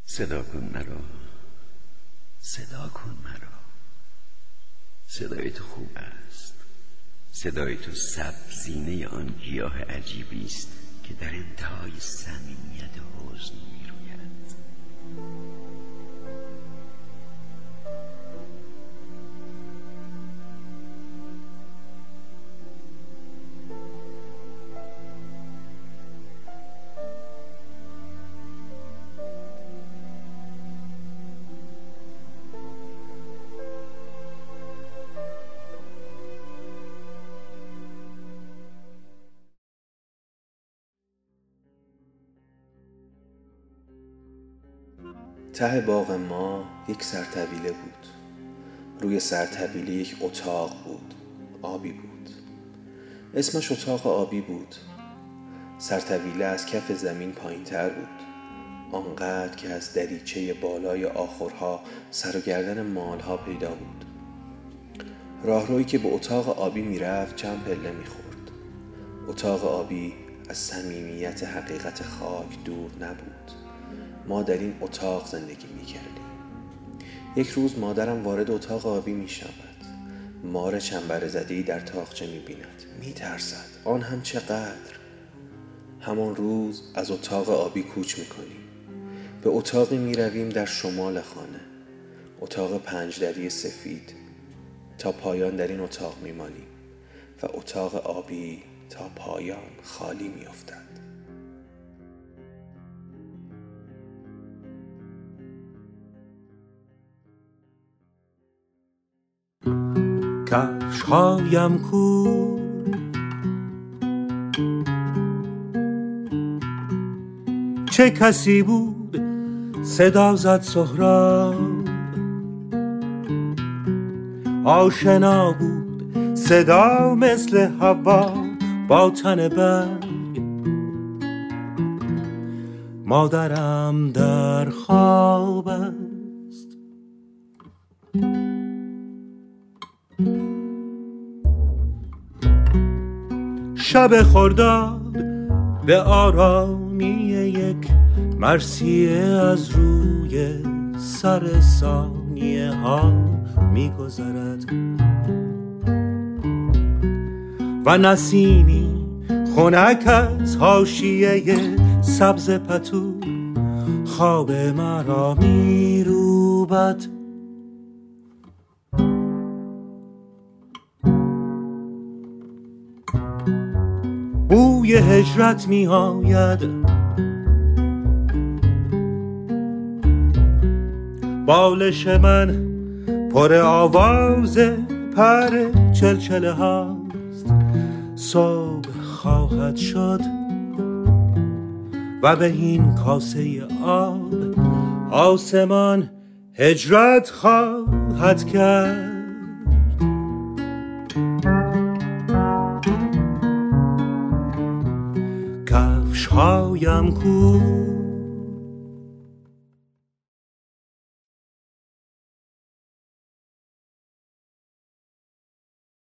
صدا کن مرا، صدا کن مرا. صدای تو خوب است. صدای تو سبزینه آن گیاه عجیبی است که در انتهای صمیمیت حزن میروید. ته باغ ما یک سرطویله بود. روی سرطویله یک اتاق بود. آبی بود. اسمش اتاق آبی بود. سرطویله از کف زمین پایین تر بود. آنقدر که از دریچه بالای آخرها سر و گردن مالها پیدا بود. راهرویی که به اتاق آبی میرفت چند پله میخورد. اتاق آبی از صمیمیت حقیقت خاک دور نبود. ما در این اتاق زندگی می‌کردیم. یک روز مادرم وارد اتاق آبی می‌شود. مار چنبره‌زده‌ای در تاقچه می‌بیند. می‌ترسد. آن هم چقدر. همان روز از اتاق آبی کوچ می‌کنیم. به اتاقی می‌رویم در شمال خانه. اتاق 5 دری سفید. تا پایان در این اتاق می‌مانیم و اتاق آبی تا پایان خالی می‌افتد. کفش‌هایم کو چه کسی بود صدا زد سهراب، آشنا بود صدا مثل هوا با تن برگ. مادرم در خواب است. شب خرداد به آرامی یک مرثیه از روی سر ثانیه ها می گذرد و نسیمی خنک از حاشیه سبز پتو خواب مرا می روبد. بوی هجرت می آید، بالش من پر آواز پر چلچله هاست. صبح خواهد شد و به این کاسه آب آسمان هجرت خواهد کرد. کفش‌هایم کو